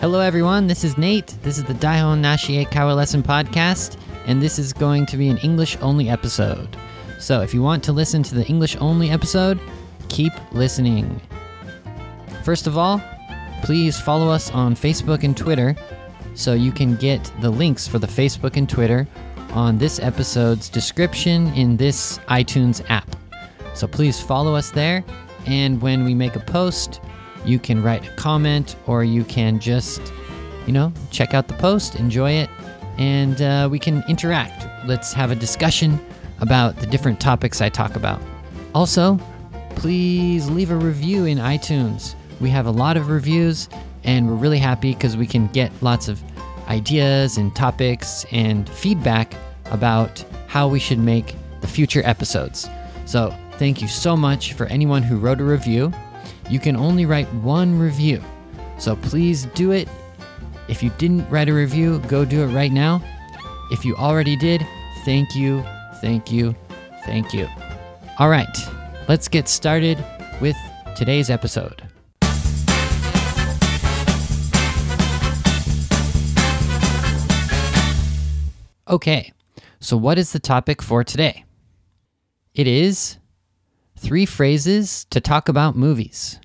Hello everyone, this is Nate. This is the Daihon Nashie Kawa Lesson Podcast, and this is going to be an English-only episode. So if you want to listen to the English-only episode, keep listening. First of all, please follow us on Facebook and Twitter so you can get the links for the Facebook and Twitter on this episode's description in this iTunes app. So please follow us there, and when we make a post, you can write a comment or you can just, check out the post, enjoy it, and we can interact. Let's have a discussion about the different topics I talk about. Also, please leave a review in iTunes. We have a lot of reviews, and we're really happy because we can get lots of ideas and topics and feedback about how we should make the future episodes. So thank you so much for anyone who wrote a review. You can only write one review, so please do it. If you didn't write a review, go do it right now. If you already did, thank you, thank you, thank you. All right, let's get started with today's episode. Okay, so what is the topic for today? It is 3 phrases to talk about movies.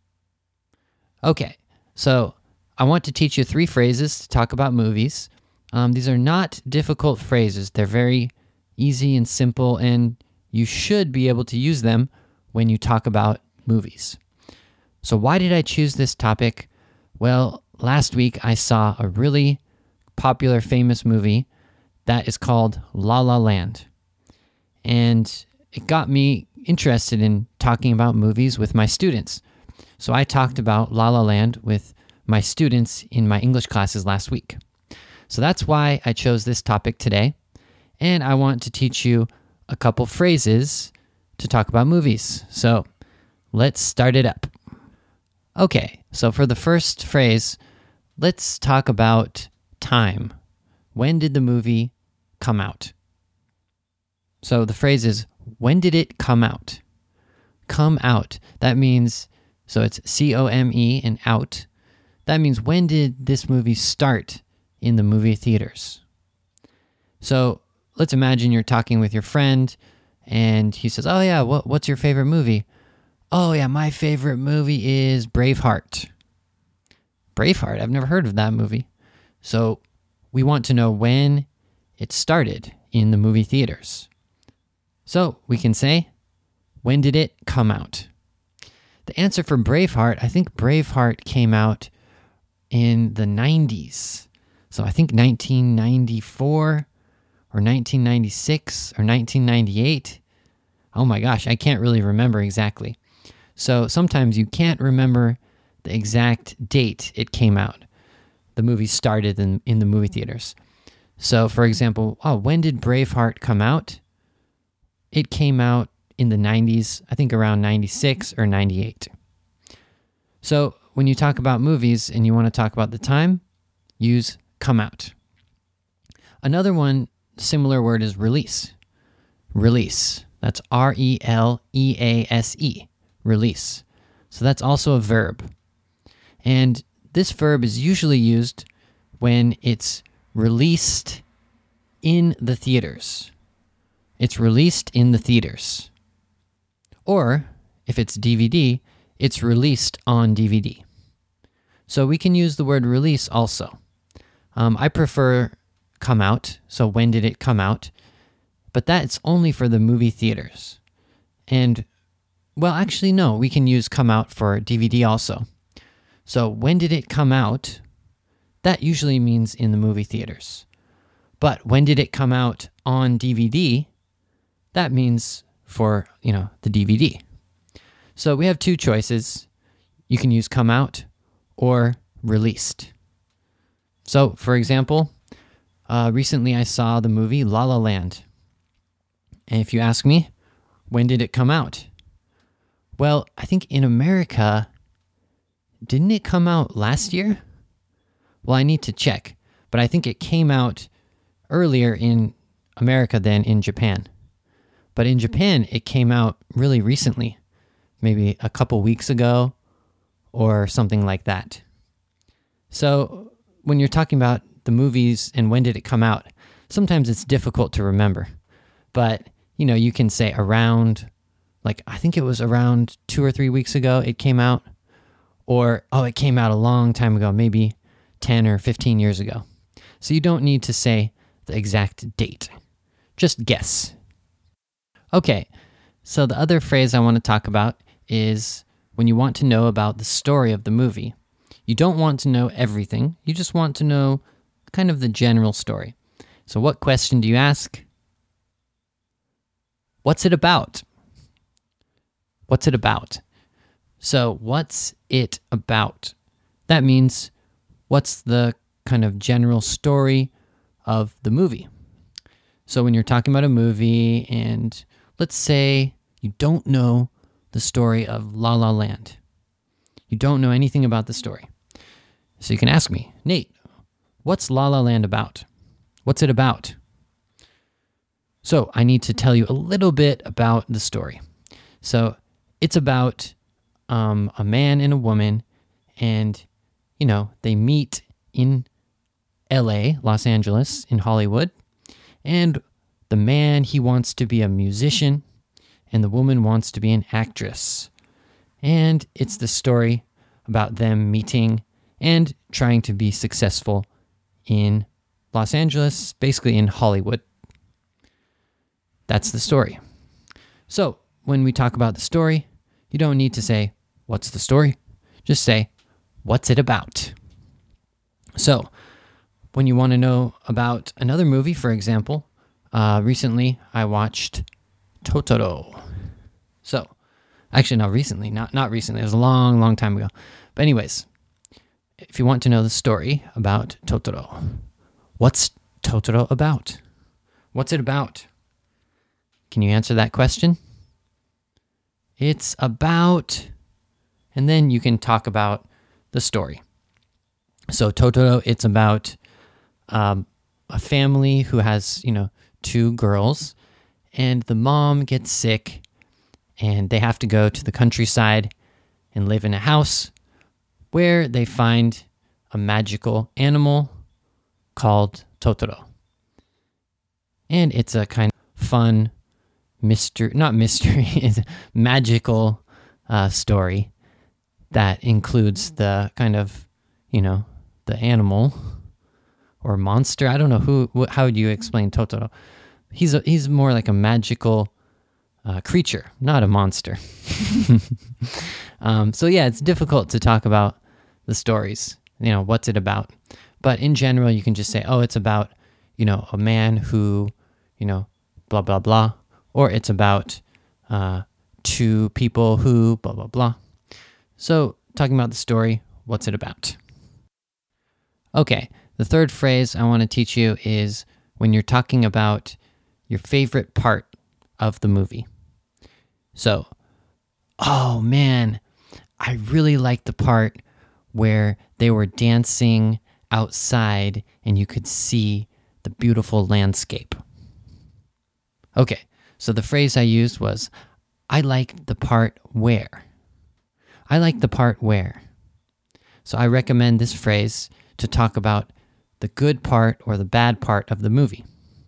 Okay, so I want to teach you 3 phrases to talk about movies. These are not difficult phrases. They're very easy and simple, and you should be able to use them when you talk about movies. So why did I choose this topic? Well, last week I saw a really popular, famous movie that is called La La Land. And it got me interested in talking about movies with my students. So I talked about La La Land with my students in my English classes last week. So that's why I chose this topic today. And I want to teach you a couple phrases to talk about movies. So let's start it up. Okay, so for the first phrase, let's talk about time. When did the movie come out? So the phrase is, when did it come out? Come out. That means, so it's C-O-M-E and out. That means, when did this movie start in the movie theaters? So let's imagine you're talking with your friend and he says, oh yeah, what's your favorite movie? Oh yeah, my favorite movie is Braveheart. Braveheart? I've never heard of that movie. So we want to know when it started in the movie theaters. So we can say, when did it come out? The answer for Braveheart, I think Braveheart came out in the 90s. So I think 1994 or 1996 or 1998. Oh my gosh, I can't really remember exactly. So sometimes you can't remember the exact date it came out. The movie started in the movie theaters. So for example, when did Braveheart come out? It came out in the 90s, I think around 96 or 98. So when you talk about movies and you want to talk about the time, use come out. Another one, similar word is release. Release. That's R-E-L-E-A-S-E. Release. So that's also a verb. And this verb is usually used when it's released in the theaters. It's released in the theaters. Or, if it's DVD, it's released on DVD. So we can use the word release also. I prefer come out, so when did it come out? But that's only for the movie theaters. And, well, actually, no, we can use come out for DVD also. So when did it come out? That usually means in the movie theaters. But when did it come out on DVD? That means for, the DVD. So we have 2 choices. You can use come out or released. So, for example, recently I saw the movie La La Land. And if you ask me, when did it come out? Well, I think in America, didn't it come out last year? Well, I need to check, but I think it came out earlier in America than in Japan. But in Japan, it came out really recently, maybe a couple weeks ago or something like that. So when you're talking about the movies and when did it come out, sometimes it's difficult to remember. But, you can say around, like, I think it was around 2 or 3 weeks ago it came out. Or, it came out a long time ago, maybe 10 or 15 years ago. So you don't need to say the exact date. Just guess. Okay, so the other phrase I want to talk about is when you want to know about the story of the movie. You don't want to know everything. You just want to know kind of the general story. So what question do you ask? What's it about? What's it about? So what's it about? That means what's the kind of general story of the movie? So when you're talking about a movie and let's say you don't know the story of La La Land. You don't know anything about the story. So you can ask me, Nate, what's La La Land about? What's it about? So I need to tell you a little bit about the story. So it's about a man and a woman, and, they meet in LA, Los Angeles, in Hollywood, and the man, he wants to be a musician, and the woman wants to be an actress. And it's the story about them meeting and trying to be successful in Los Angeles, basically in Hollywood. That's the story. So when we talk about the story, you don't need to say, what's the story? Just say, what's it about? So when you want to know about another movie, for example, recently I watched Totoro. So, actually not recently, not recently, it was a long, long time ago. But anyways, if you want to know the story about Totoro, what's Totoro about? What's it about? Can you answer that question? It's about, and then you can talk about the story. So Totoro, it's about a family who has, 2 girls, and the mom gets sick, and they have to go to the countryside and live in a house where they find a magical animal called Totoro. And it's a kind of fun it's a magical story that includes the kind of, the animal or monster. I don't know how would you explain Totoro? He's more like a magical creature, not a monster. So yeah, it's difficult to talk about the stories, what's it about? But in general, you can just say, it's about, a man who, blah, blah, blah. Or it's about 2 people who, blah, blah, blah. So talking about the story, what's it about? Okay, the third phrase I want to teach you is when you're talking about your favorite part of the movie. So, oh man, I really liked the part where they were dancing outside and you could see the beautiful landscape. Okay, so the phrase I used was, I liked the part where. I like the part where. So I recommend this phrase to talk about the good part or the bad part of the movie.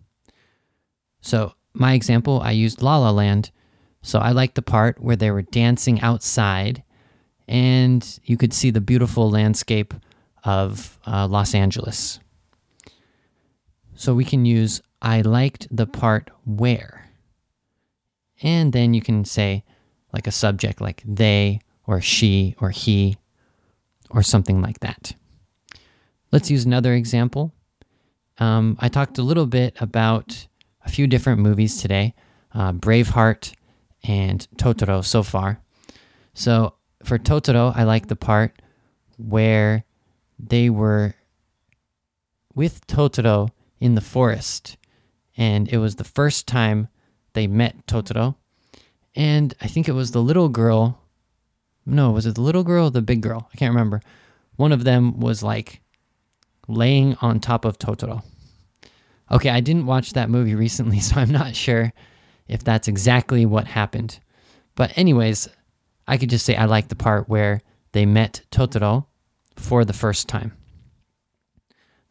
So my example, I used La La Land. So I liked the part where they were dancing outside and you could see the beautiful landscape of Los Angeles. So we can use I liked the part where. And then you can say like a subject like they or she or he or something like that. Let's use another example. I talked a little bit about a few different movies today, Braveheart and Totoro so far. So for Totoro, I like the part where they were with Totoro in the forest. And it was the first time they met Totoro. And I think it was the little girl. No, was it the little girl or the big girl? I can't remember. One of them was like laying on top of Totoro. Okay, I didn't watch that movie recently, so I'm not sure if that's exactly what happened. But anyways, I could just say I like the part where they met Totoro for the first time.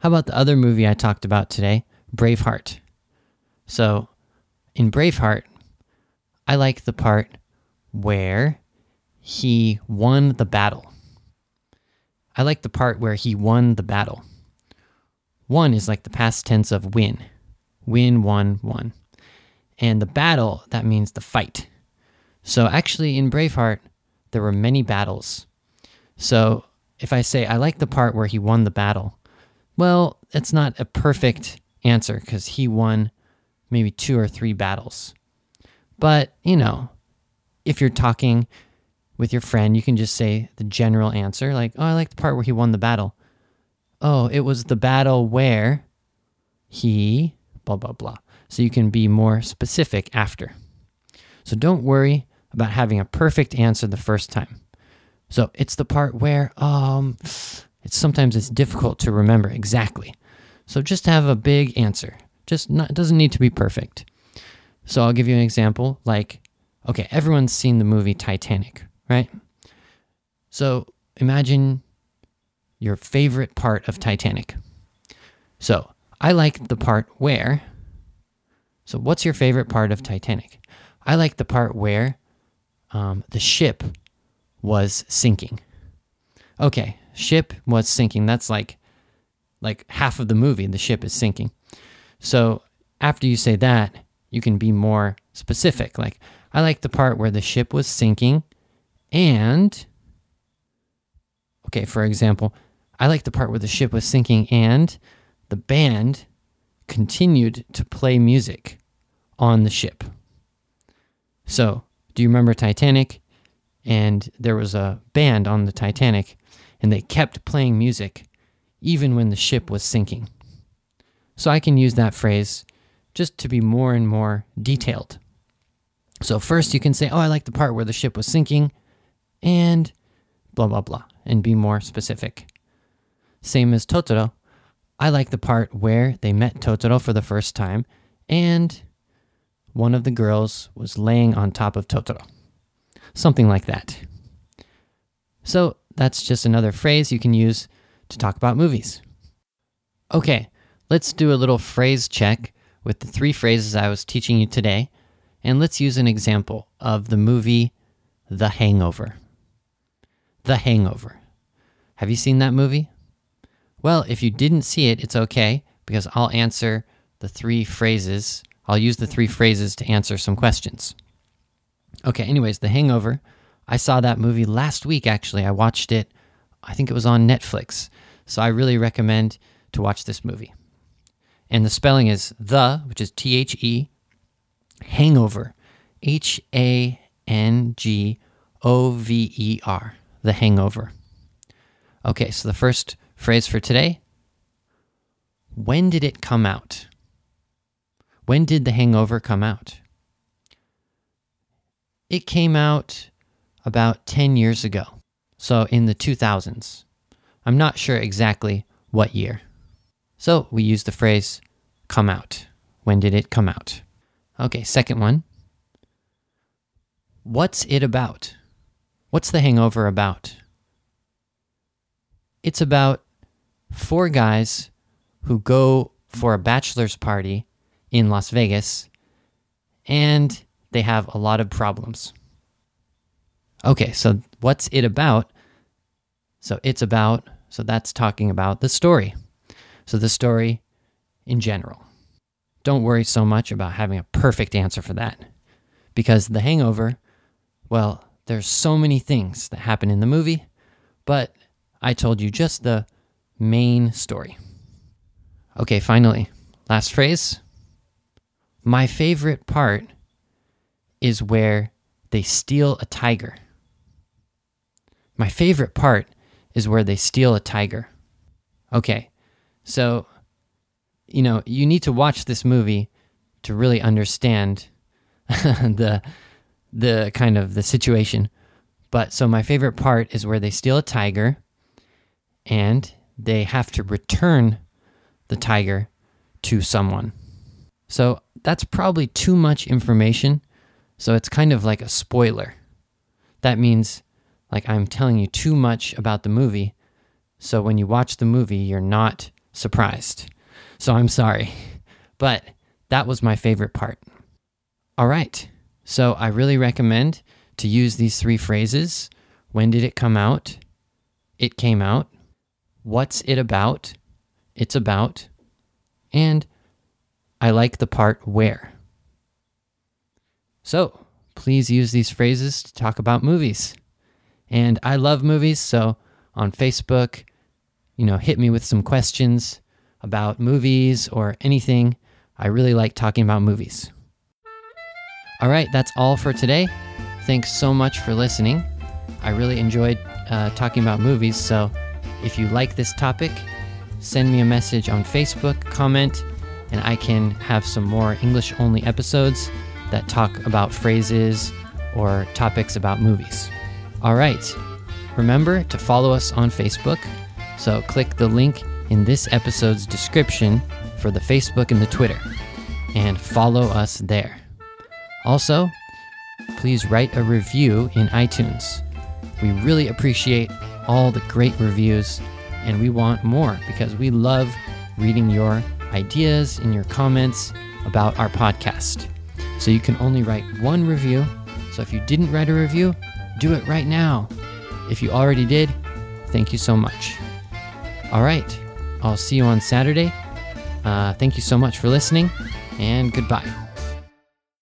How about the other movie I talked about today, Braveheart? So, in Braveheart, I like the part where he won the battle. I like the part where he won the battle. Won is like the past tense of win. Win, won, won. And the battle, that means the fight. So actually in Braveheart, there were many battles. So if I say I like the part where he won the battle, well, it's not a perfect answer because he won maybe 2 or 3 battles. But, if you're talking with your friend, you can just say the general answer, like, oh, I like the part where he won the battle. Oh, it was the battle where he blah, blah, blah. So you can be more specific after. So don't worry about having a perfect answer the first time. So it's the part where sometimes it's difficult to remember exactly. So just have a big answer. It doesn't need to be perfect. So I'll give you an example. Like, okay, everyone's seen the movie Titanic, right? So imagine your favorite part of Titanic. So I like the part where. So what's your favorite part of Titanic? I like the part where the ship was sinking. Okay, ship was sinking. That's like half of the movie, the ship is sinking. So after you say that, you can be more specific. Like, I like the part where the ship was sinking and, okay, for example, I like the part where the ship was sinking and the band continued to play music on the ship. So, do you remember Titanic? And there was a band on the Titanic, and they kept playing music even when the ship was sinking. So I can use that phrase just to be more and more detailed. So first you can say, oh, I like the part where the ship was sinking, and blah, blah, blah, and be more specific. Same as Totoro. I like the part where they met Totoro for the first time, and one of the girls was laying on top of Totoro. Something like that. So that's just another phrase you can use to talk about movies. Okay, let's do a little phrase check with the 3 phrases I was teaching you today, and let's use an example of the movie The Hangover. The Hangover. Have you seen that movie? Well, if you didn't see it, it's okay, because I'll answer the 3 phrases. I'll use the 3 phrases to answer some questions. Okay, anyways, The Hangover. I saw that movie last week, actually. I watched it, I think it was on Netflix. So I really recommend to watch this movie. And the spelling is the, which is THE, Hangover, HANGOVER, The Hangover. Okay, so the first phrase for today, when did it come out? When did The Hangover come out? It came out about 10 years ago, so in the 2000s. I'm not sure exactly what year. So we use the phrase come out. When did it come out? Okay, second one. What's it about? What's The Hangover about? It's about 4 guys who go for a bachelor's party in Las Vegas, and they have a lot of problems. Okay, so what's it about? So that's talking about the story. So the story in general. Don't worry so much about having a perfect answer for that. Because The Hangover, well, there's so many things that happen in the movie, but I told you just the main story. Okay, finally, last phrase. My favorite part is where they steal a tiger. My favorite part is where they steal a tiger. Okay, so, you need to watch this movie to really understand the kind of the situation. But so my favorite part is where they steal a tiger and they have to return the tiger to someone. So that's probably too much information. So it's kind of like a spoiler. That means like I'm telling you too much about the movie. So when you watch the movie, you're not surprised. So I'm sorry. But that was my favorite part. All right. So I really recommend to use these 3 phrases. When did it come out? It came out. What's it about? It's about. And I like the part where. So please use these phrases to talk about movies. And I love movies, so on Facebook, hit me with some questions about movies or anything. I really like talking about movies. All right, that's all for today. Thanks so much for listening. I really enjoyed talking about movies, so if you like this topic, send me a message on Facebook, comment, and I can have some more English-only episodes that talk about phrases or topics about movies. All right, remember to follow us on Facebook, so click the link in this episode's description for the Facebook and the Twitter, and follow us there. Also, please write a review in iTunes. We really appreciate all the great reviews, and we want more because we love reading your ideas and your comments about our podcast. So you can only write 1 review. So if you didn't write a review, do it right now. If you already did, thank you so much. All right, I'll see you on Saturday. Thank you so much for listening, and goodbye.